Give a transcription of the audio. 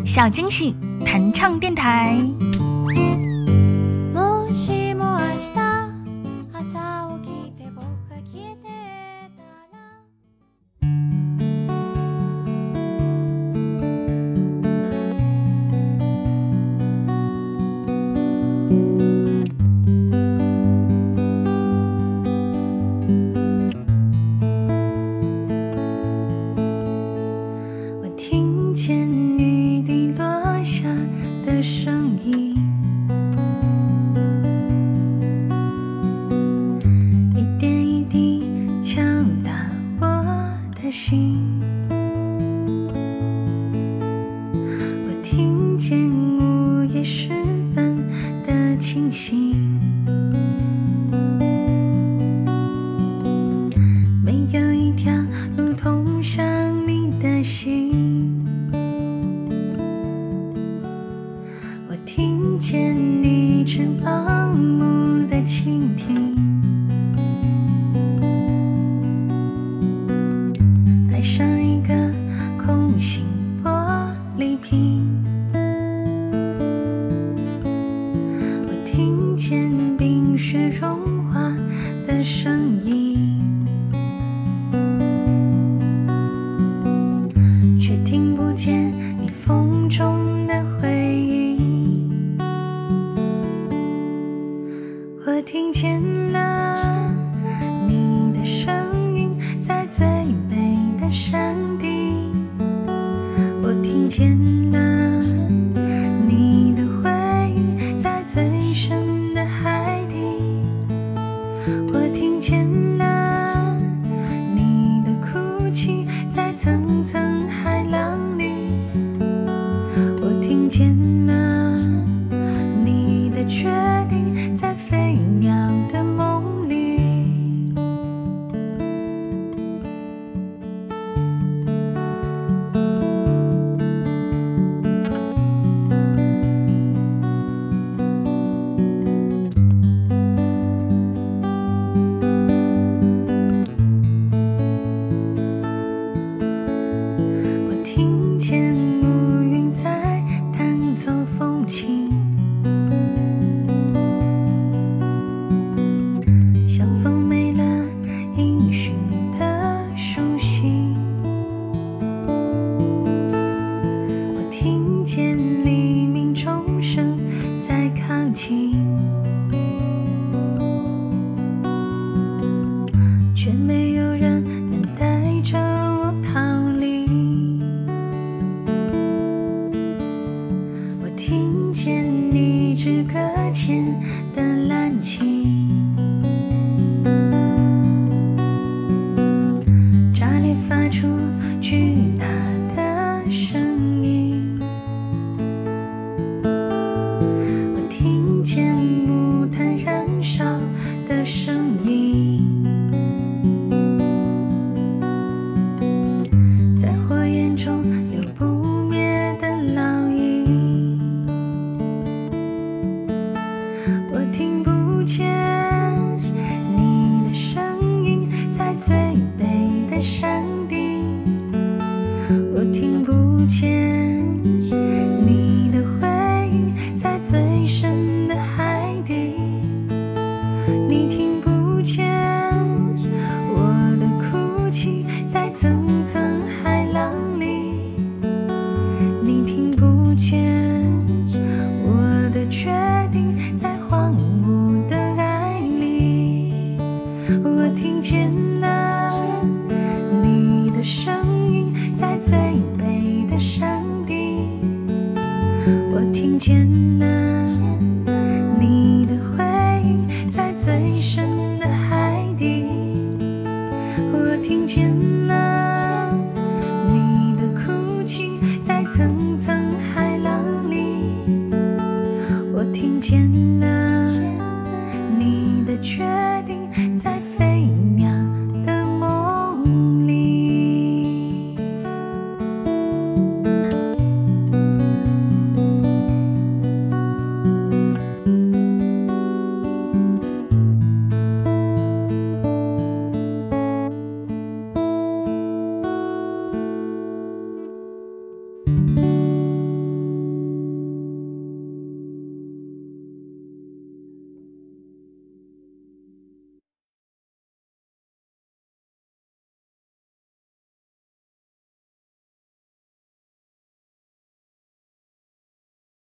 小惊喜弹唱电台。 我听见午夜时分的清醒，没有一条路通向你的心。我听见你只盲目的倾听，爱上一个空心玻璃瓶。我听见冰雪融化的声音，却听不见你风中的回应。我听见了你的声音在最美的山顶，我听见了你的回忆在最深的海底，我听见了你的哭泣在层层海浪里，我听见了你的决定在飞鸟的梦里。我听见乌云在弹奏风琴，像风没了音讯的书信。我听见黎明钟声在靠近，却没有人能带着我逃离。我听见你只搁浅的蓝琴，炸裂发出巨大的声音。我听见木炭燃烧的声音，在火焰中留不灭的烙印。我听不见你的声音在最北的山顶，我听不见你的回忆在最深的海底，你听不见我的哭泣在层层海浪里，你听不见我的决定在荒芜的爱里。我听见了你的声音在最北的山顶，我听见